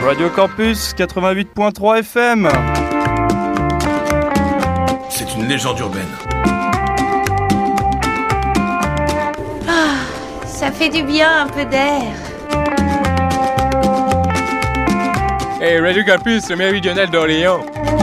Radio Campus 88.3 FM. C'est une légende urbaine. Ah, ça fait du bien un peu d'air. Hey, Radio Campus, le méridional d'Orléans.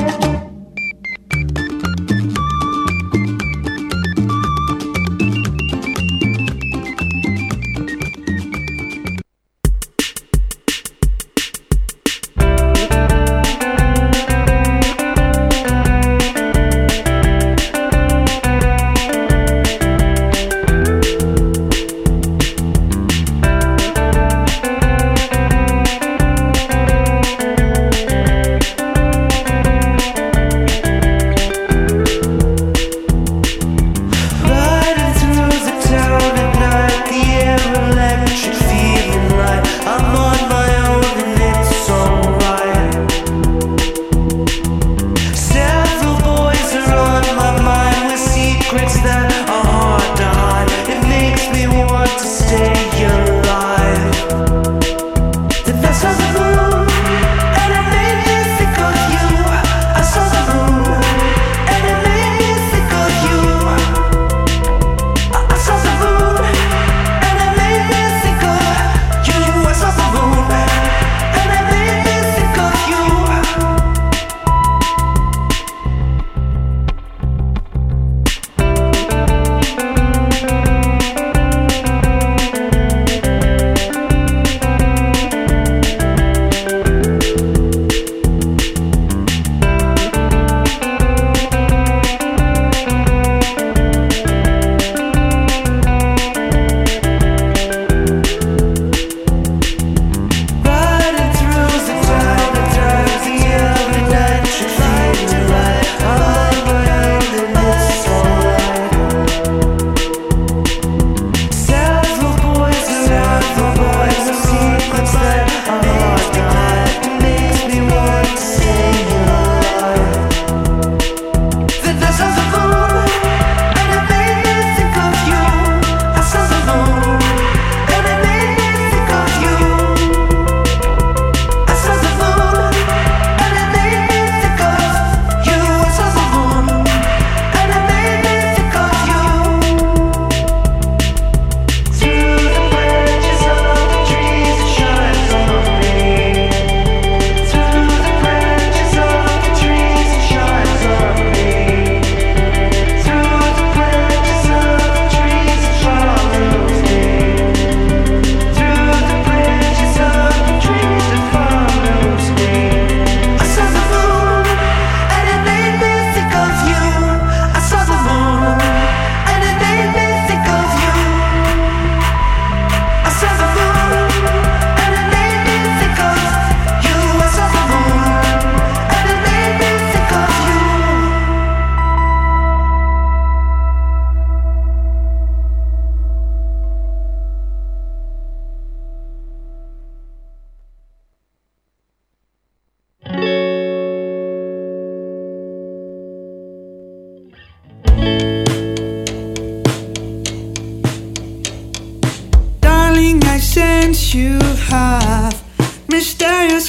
You have mysterious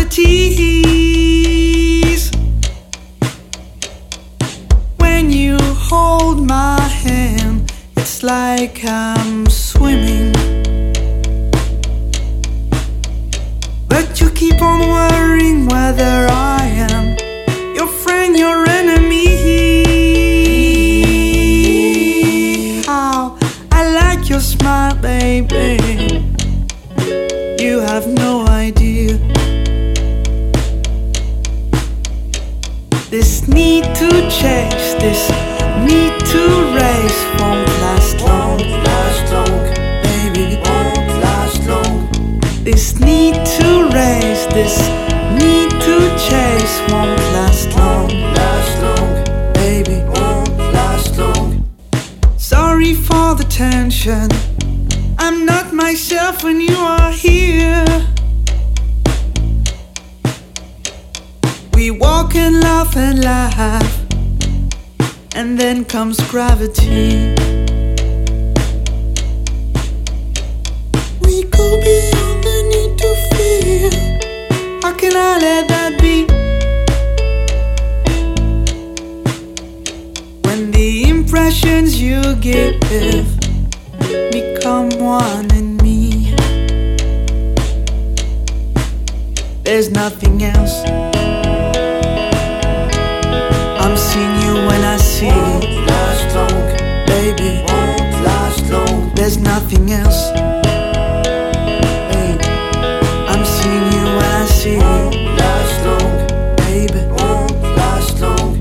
qualities. When you hold my hand, it's like I'm swimming. But you keep on worrying whether I am your friend, your enemy. How I like your smile, baby. You have no idea. This need to chase, this need to race won't last long, baby, won't last long. This need to race, this need to chase won't last long, baby, won't last long. Sorry for the tension, I'm not myself when you are here. We walk and laugh and laugh, and then comes gravity. We go beyond the need to feel. I let that be? When the impressions you give become one in me, there's nothing else. I'm seeing you when I see you. Last long, baby, won't last long. There's nothing else. Hey, I'm seeing you when I see you. Last long, baby, won't last long.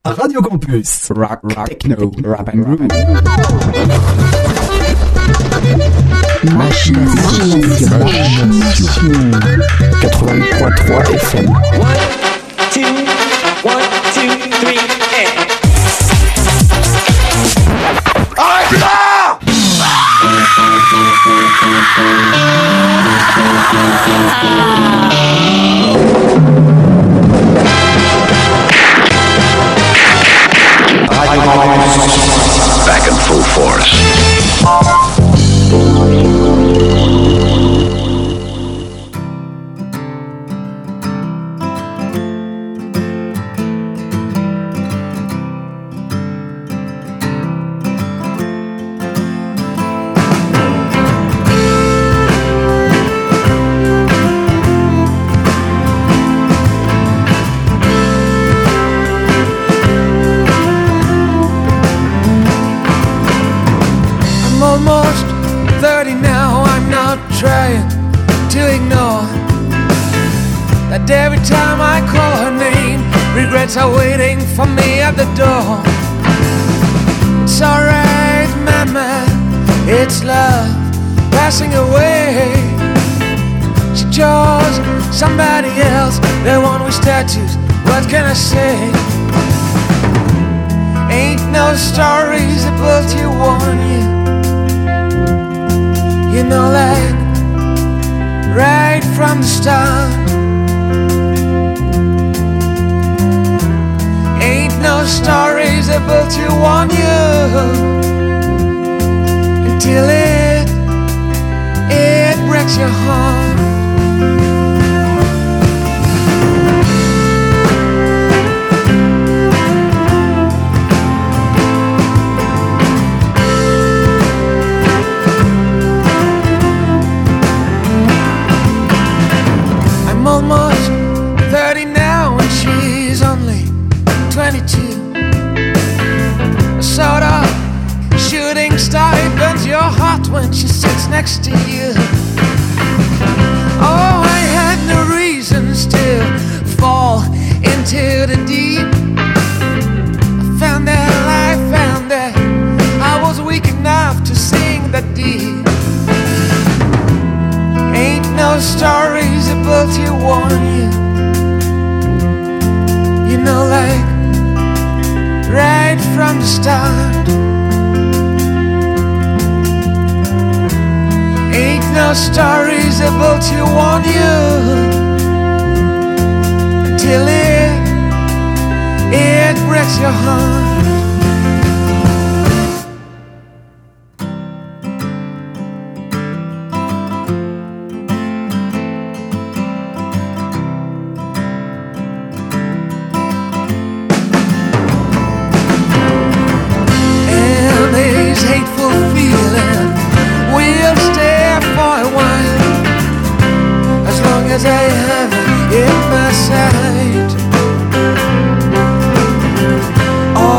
Radio Campus. Rock, techno, rap and groove. Machination. 88.3 FM. 1, 2, 3, and... Arrête là! Back in full force. Every time I call her name, regrets are waiting for me at the door. It's alright, mama, it's love passing away. She chose somebody else, the one with tattoos, what can I say? Ain't no stories about you warn you. You know, like right from the start. No stories about you on you until it breaks your heart. I'm almost 30 now and she's only 22. A sort of shooting star, it burns your heart when she sits next to you. Oh, I had no reasons to fall into the deep. I found that I was weak enough to sing that deep. Ain't no stories about you warn you. You know, like right from the start. Ain't no stories about you on you until it breaks your heart. As I have it in my sight,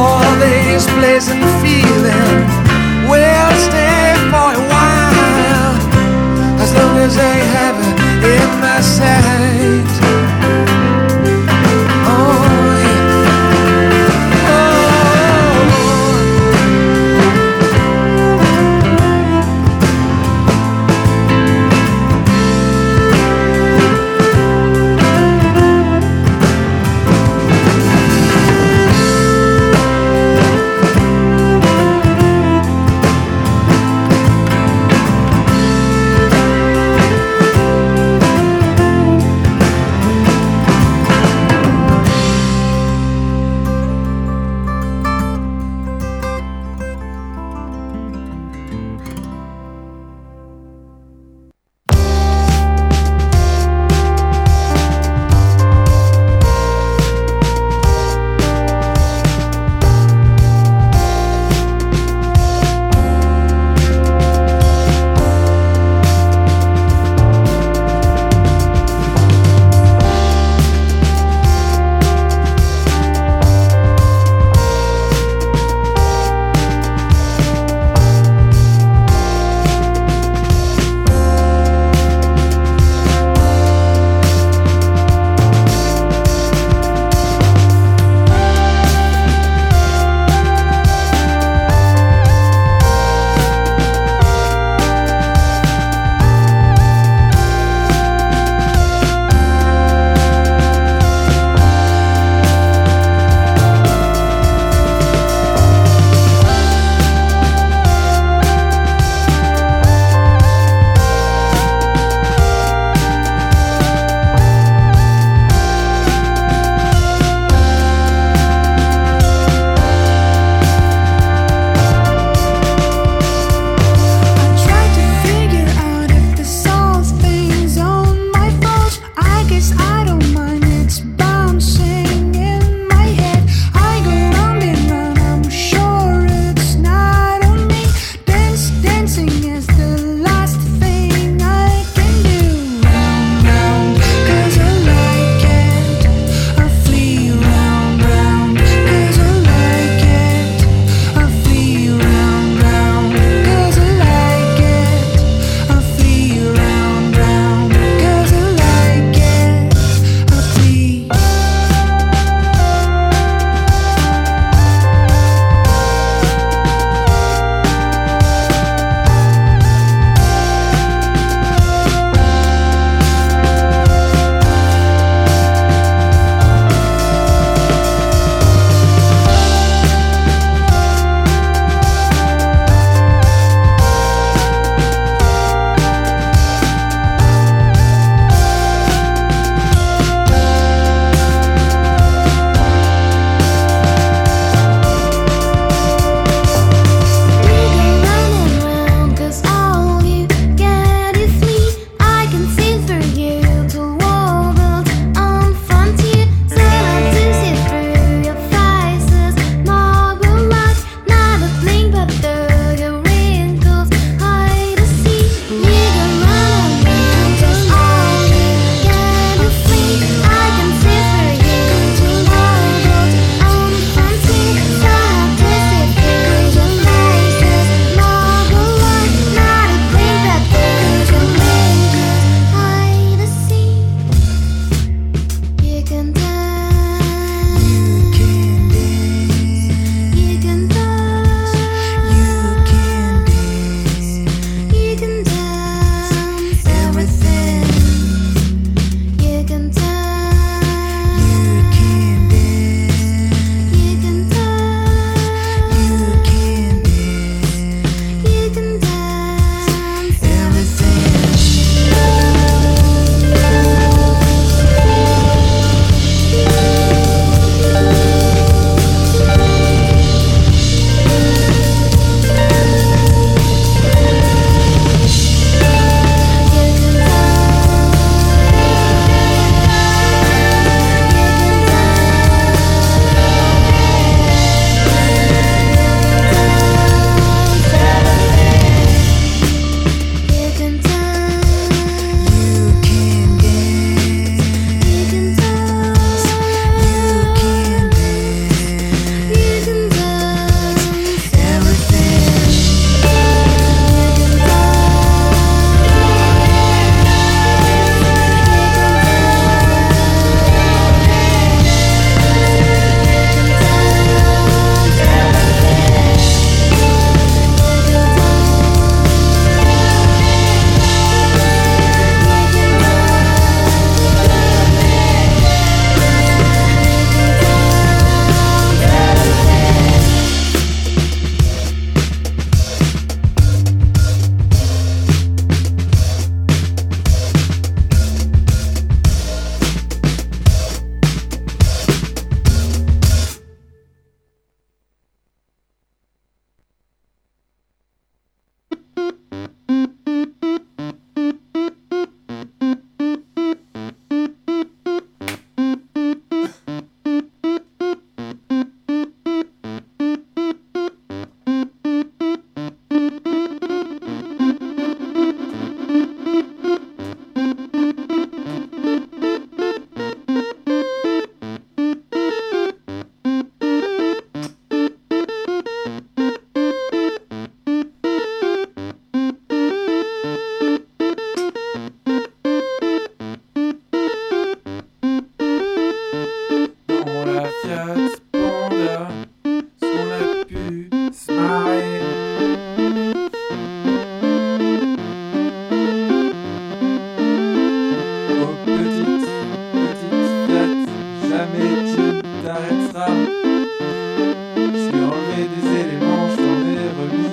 jamais tu t'arrêteras. J'ai enlevé des éléments, je t'en ai remis.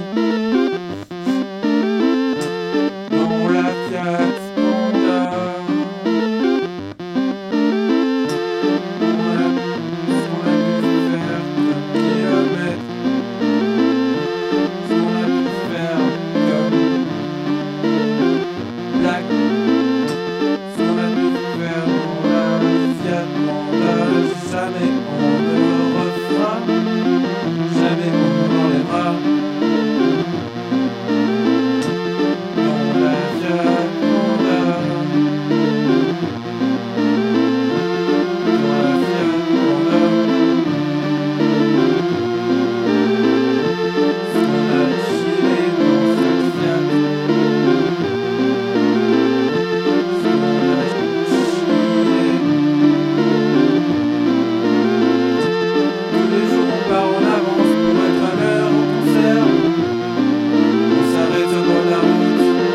Dans la Fiat Panda. On a pu faire comme kilomètres. On a pu faire comme Black. On a pu faire dans la Fiat Panda. Jamais on ne refera. Jamais on ne l'enlèvera. Dans la Fiat Panda. Dans la Fiat Panda. On a chillé dans cette Fiat. On a chillé. Tous les jours on part en avance pour être à l'heure au concert. On s'arrête au bord de la route.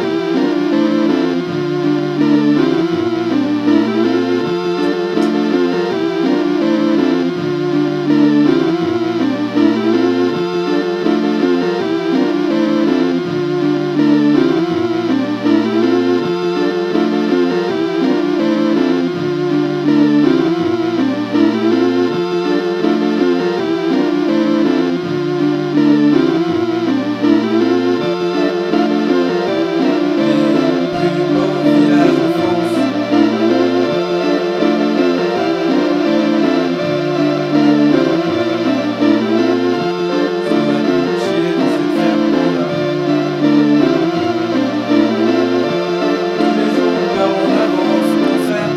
Les plus beaux villages de France. On a pu chiller dans cette Fiat Panda. Tous les jours on part en avance au concert.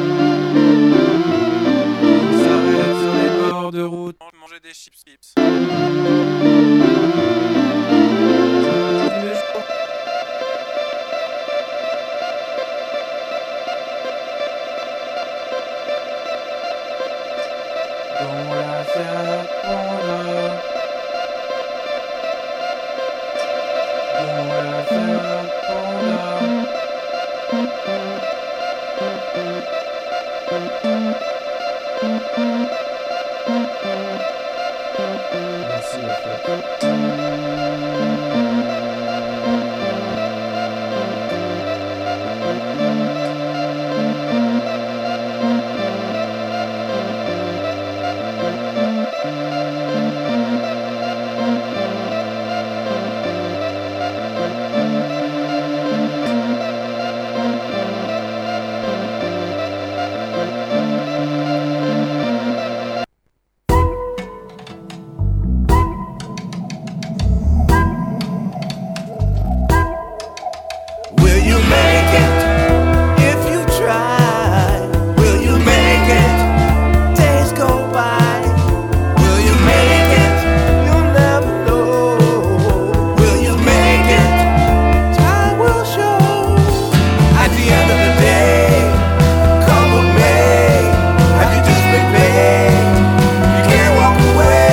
On s'arrête sur les bords de route. Manger des chips. Tous les jours. Dans la Fiat Panda. Dans la Fiat Panda. Merci la Fiat. Will you make it if you try? Will you make it? Days go by. Will you make it? You'll never know. Will you make it? Time will show. At the end of the day, come with me. Have you just been paid? You can't walk away.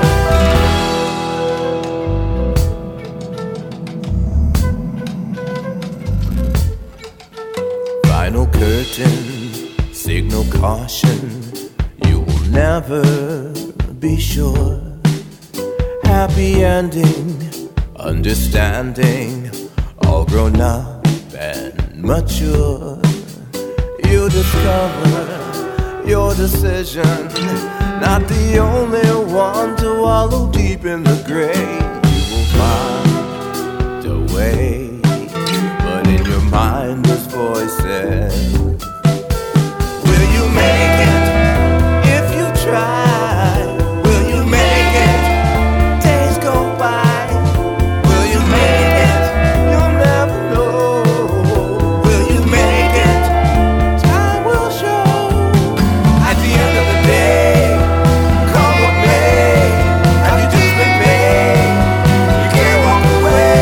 Final curtain, signal caution. You will never be sure. Happy ending, understanding, all grown up and mature. You discover your decision, not the only one to wallow deep in the grave. You will find a way, but in your mind there's voices. Will you make it if you try? Will you make it? Days go by. Will you make it? You'll never know. Will you make it? Time will show. At the end of the day, come with me. Have you just been paid? You can't walk away.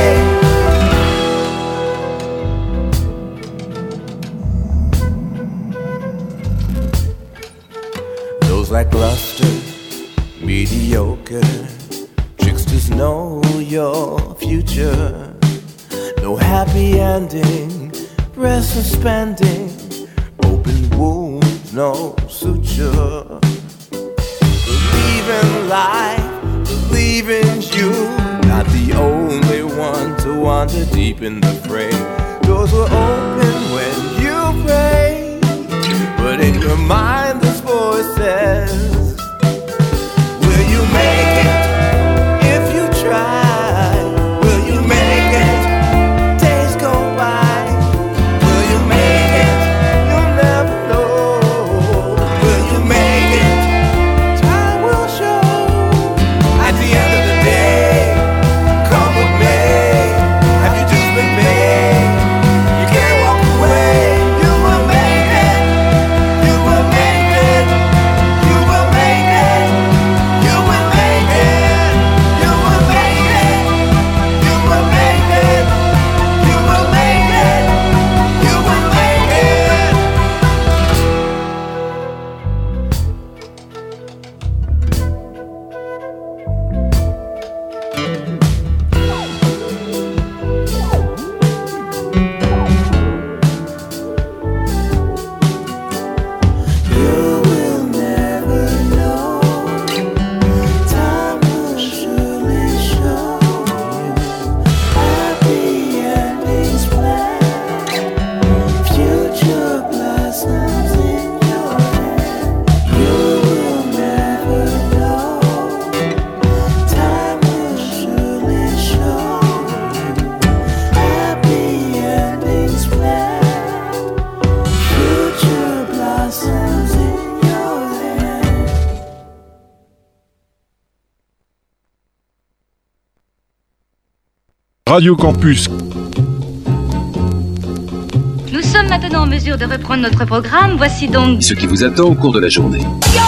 Those lackluster, mediocre tricksters know your future. No happy ending, breast suspending, open wounds, no suture. the only one to wander deep in the fray. Doors were open when you prayed, but in your mind this voice says, will you make it if you try? Will you make it? Days go by. Will you make it? You'll never know. Will you make it? Time will show. At the end of the day, come with me. Have you just been made? You can't walk away. You will make it. You will make it. You will make it. You will make it. You will make it. You will make it. You will make it. You will make it. You will never know. Time will surely show you happy endings planned. Future blossoms in your hand. You will never know. Time will surely show you happy endings planned. Future blossoms in your hand. Radio Campus. Nous sommes maintenant en mesure de reprendre notre programme. Voici donc Ce qui vous attend au cours de la journée.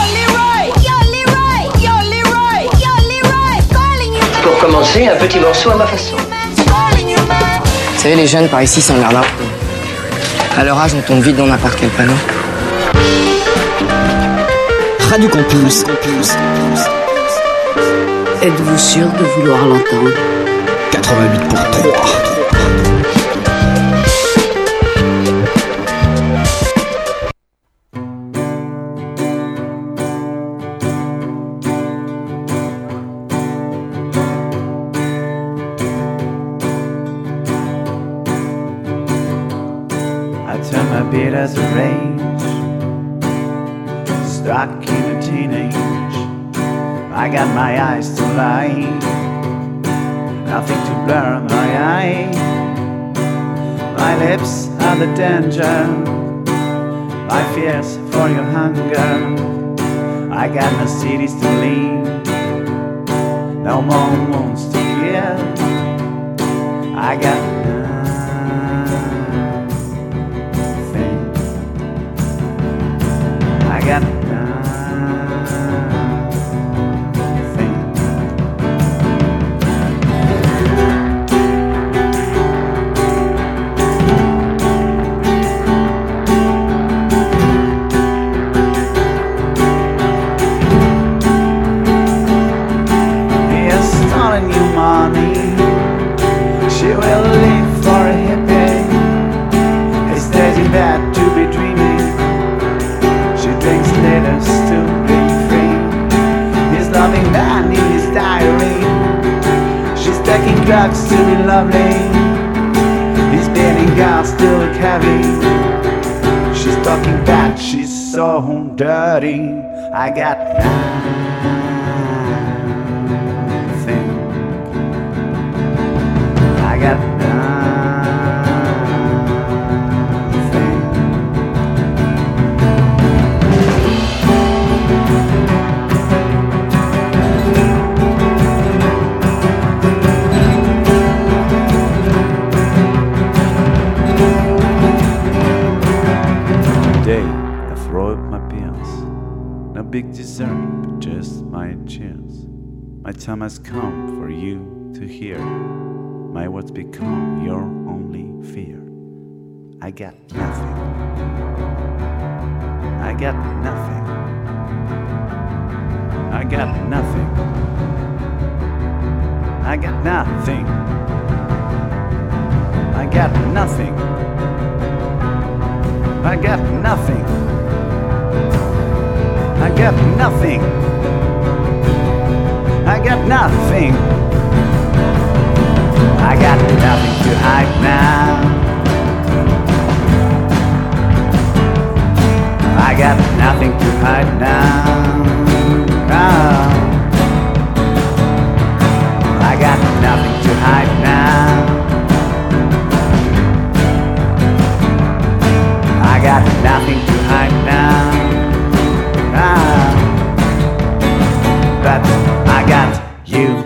Pour commencer, un petit morceau à ma façon. Vous savez, les jeunes par ici s'emmerdent un peu. À leur âge, on tombe vite dans n'importe quel panneau. Radio Campus. Êtes-vous sûr de vouloir l'entendre? 88.3. I turn my beard as a rage, stuck in a teenage. I got my eyes to light, nothing to blur my eye. My lips are the danger, my fears for your hunger. I got no cities to leave, no more wounds to kill. I got I got nothing. He has stolen your money. She will live for a hippie. He stays in bed to be dreaming. Drinks letters to be free. He's loving man in his diary. She's taking drugs to be lovely. He's beating girls to look heavy. She's talking bad, she's so dirty. I got nothing. I got nothing. Big dessert, but just my chance. My time has come for you to hear. My words become your only fear. I got nothing. I got nothing. I got nothing. I got nothing. I got nothing. I got nothing. I got nothing. I got nothing. I got nothing to hide now. I got nothing to hide now. I got nothing to hide now. I got nothing to hide now. But I got you.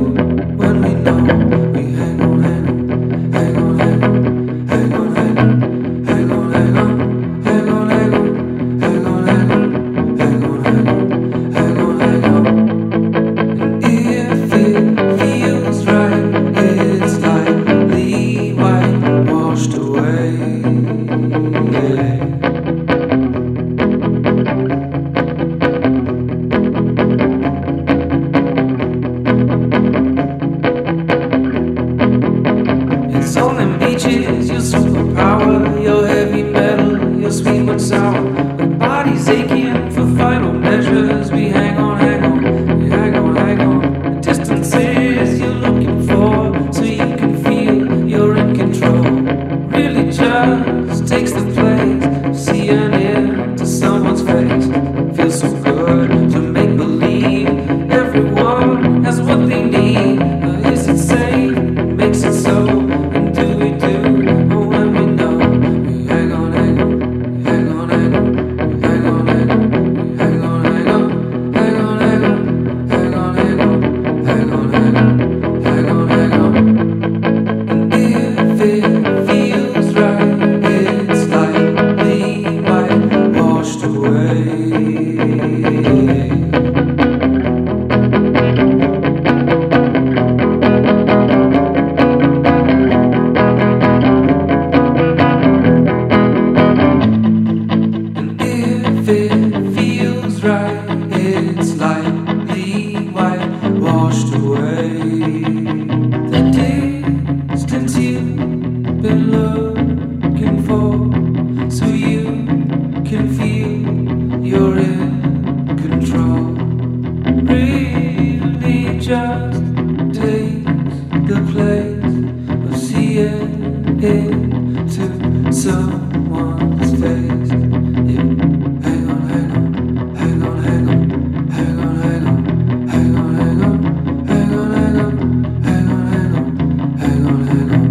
Hang on. looking for, so you can feel you're in control. Really just takes the place of seeing into someone's face. Yeah, hang on, hang on, hang on, hang on, hang on, hang on, hang on, hang on, hang on, hang on, hang on, hang on, hang on, hang on.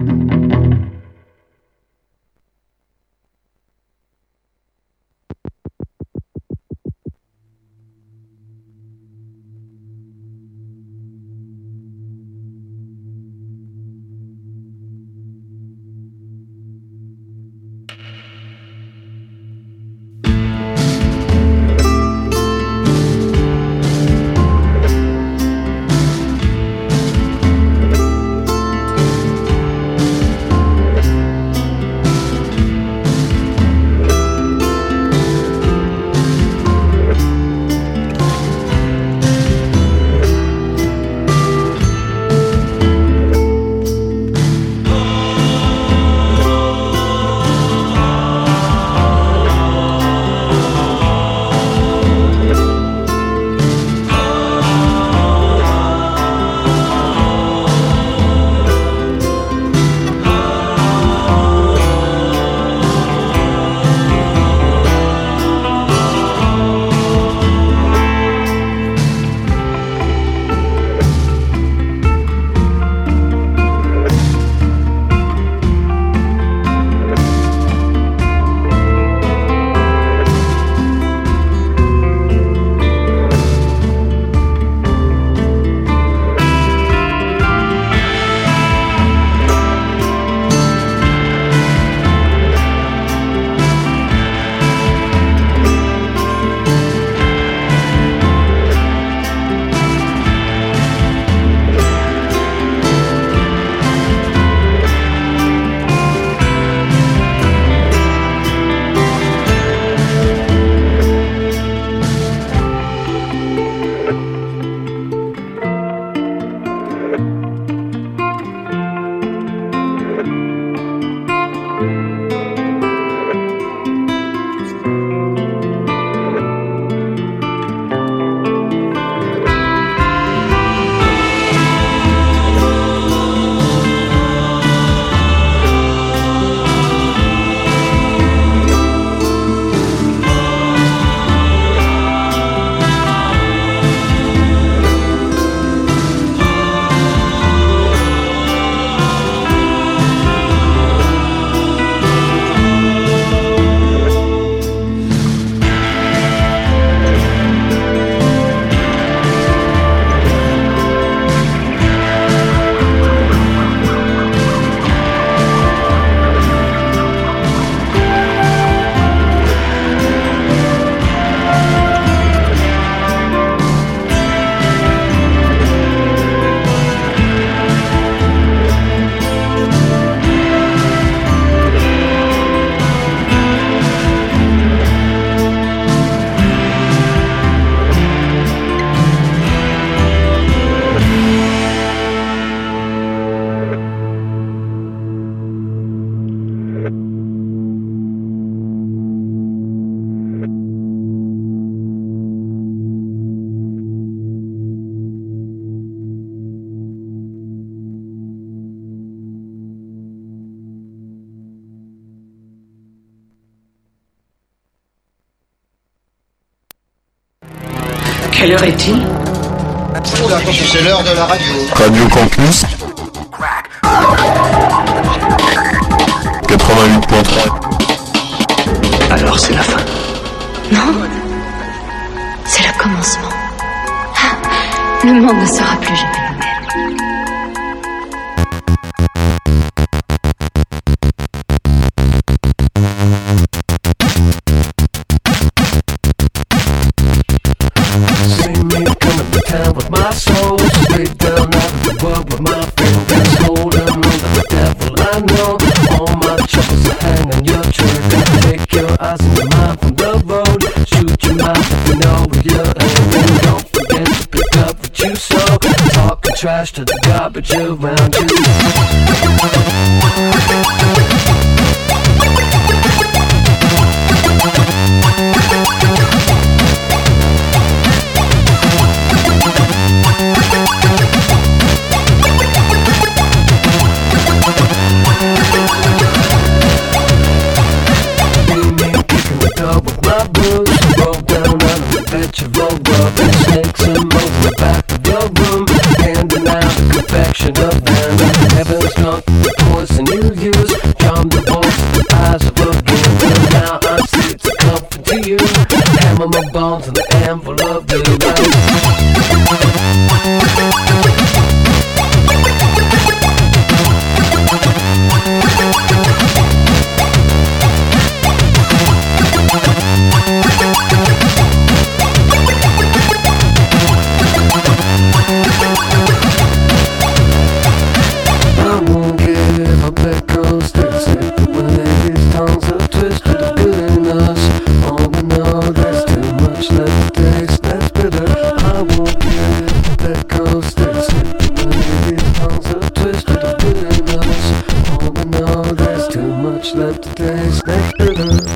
Quelle heure est-il? C'est l'heure de la radio. Radio Campus 88.3. Alors c'est la fin. Non, c'est le commencement. Le monde ne sera plus jamais le même. See me coming to town with my soul, straight down out of the world with my fingers holding on to the devil. I know all my troubles are hanging your trigger. Take your eyes and your mind from the road. Shoot your mouth if you know where you're aiming. Don't forget to pick up what you sow. Talking trash to the garbage around you. on to the envelope the I won't give up that ghost that's it. When these tongues are twisted of good in us. Oh, we know there's too much left to taste that's bitter. I won't give up that ghost that's it. When these tongues are twisted of good in us. Oh, we know there's too much left to taste that's bitter.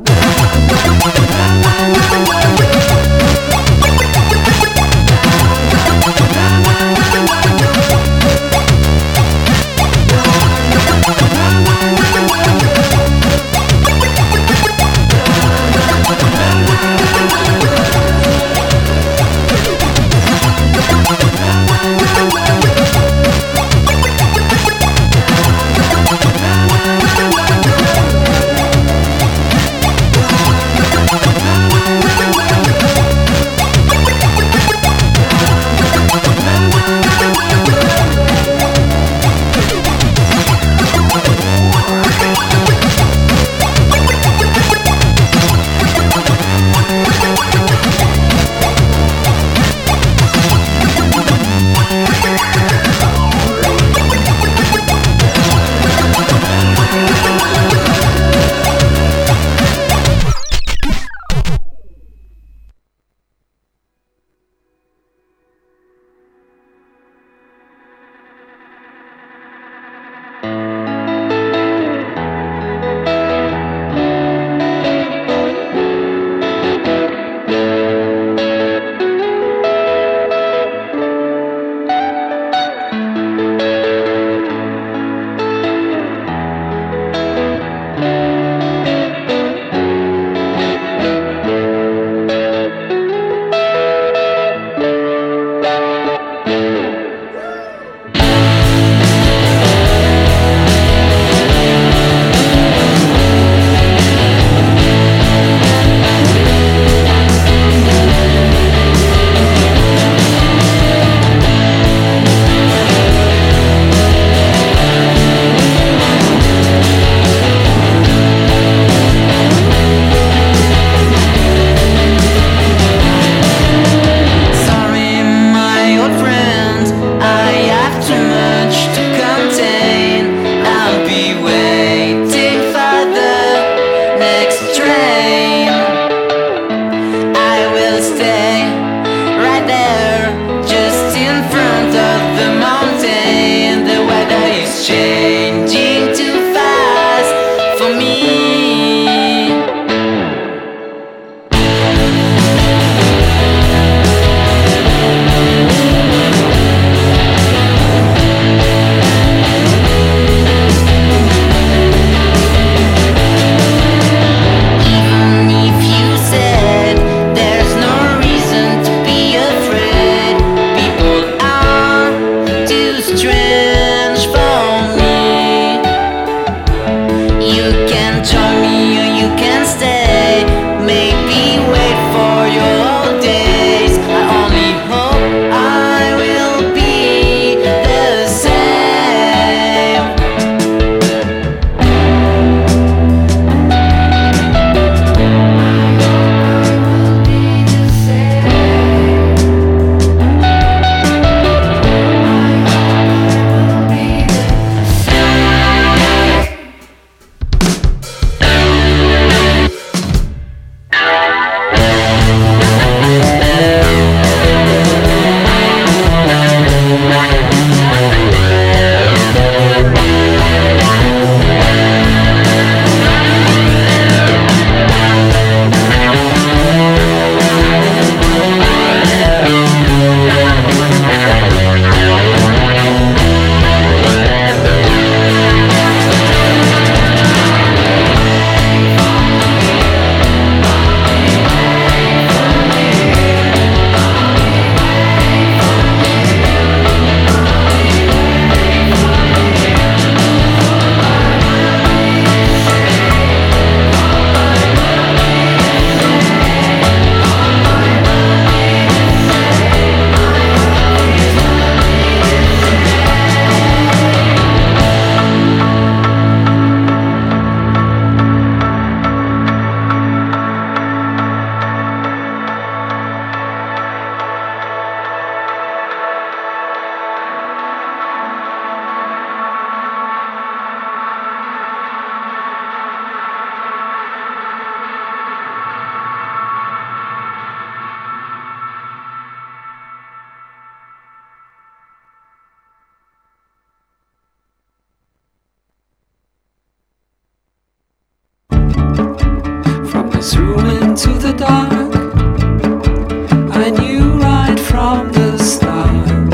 into the dark. I knew right from the start.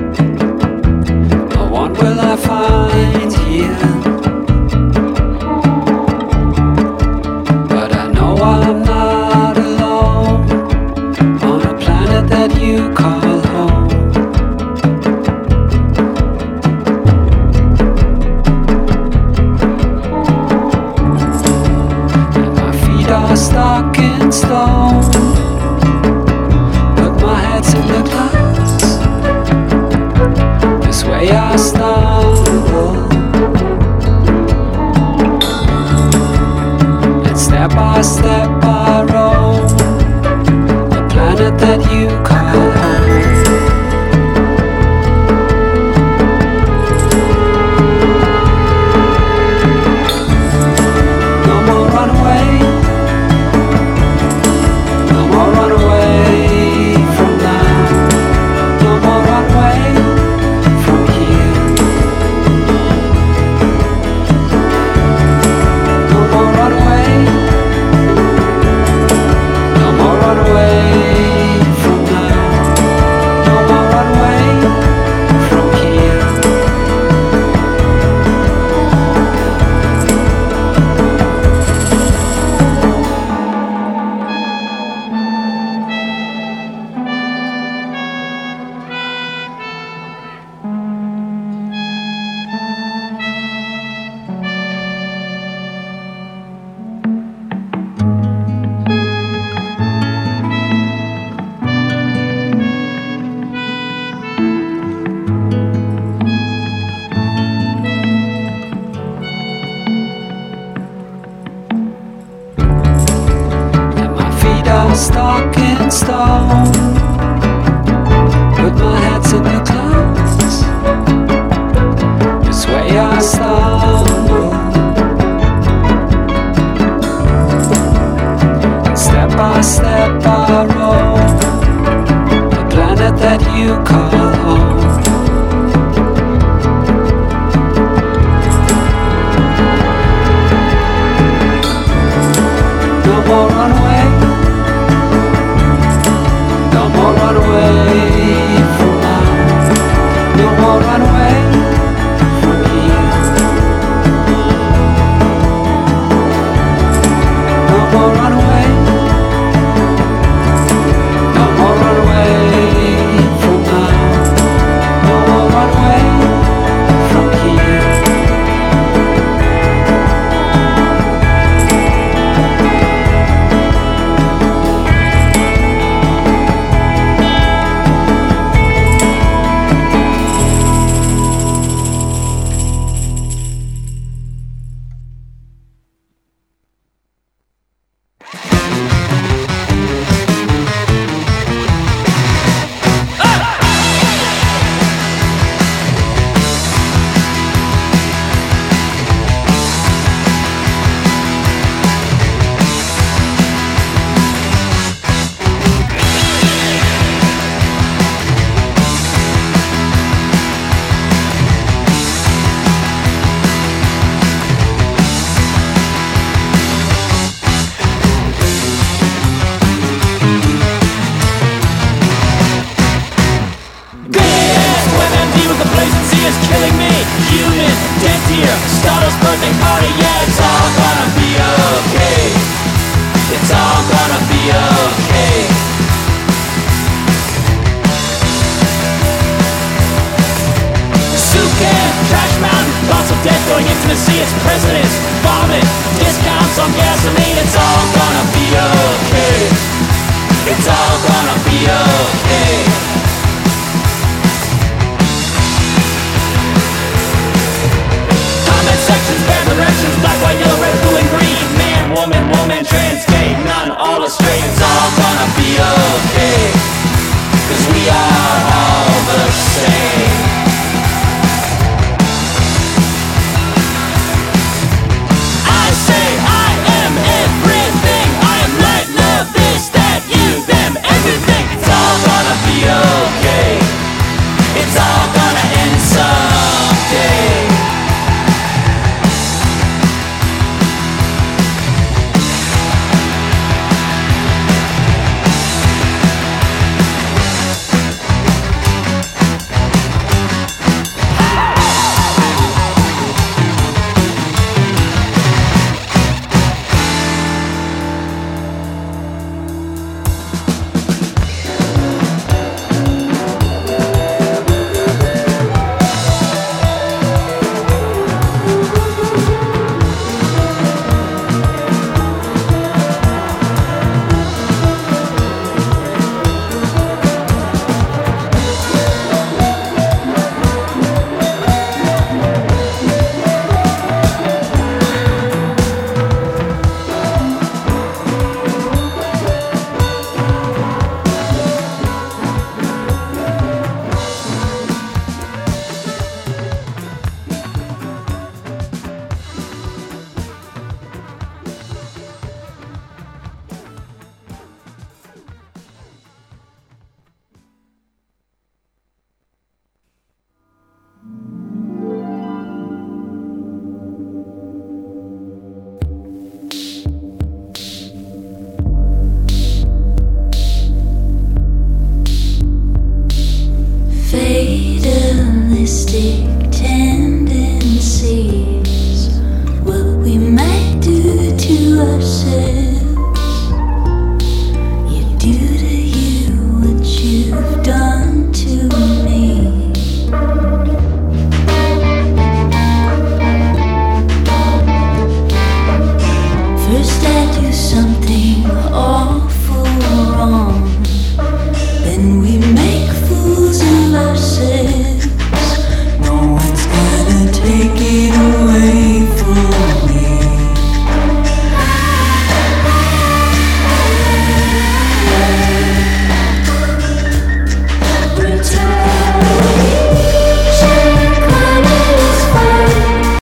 No one will I find here, but I know I'm not alone on a planet that you call home. And my feet are stuck in stone, but my head's in the clouds. This way I stumble, and step by step I roam the planet that you call home. No more runaway, no more runaway from now, no more runaway from here, no more runaway, no more runaway from now, no more runaway from here. And my feet are stuck in stone, but my head's in the clouds. This way I stumble, and step by step I roam the planet that you call home. No more runaway, no more runaway from now, no more runaway from here, no more runaway, no more runaway from now, no more runaway from here. stick.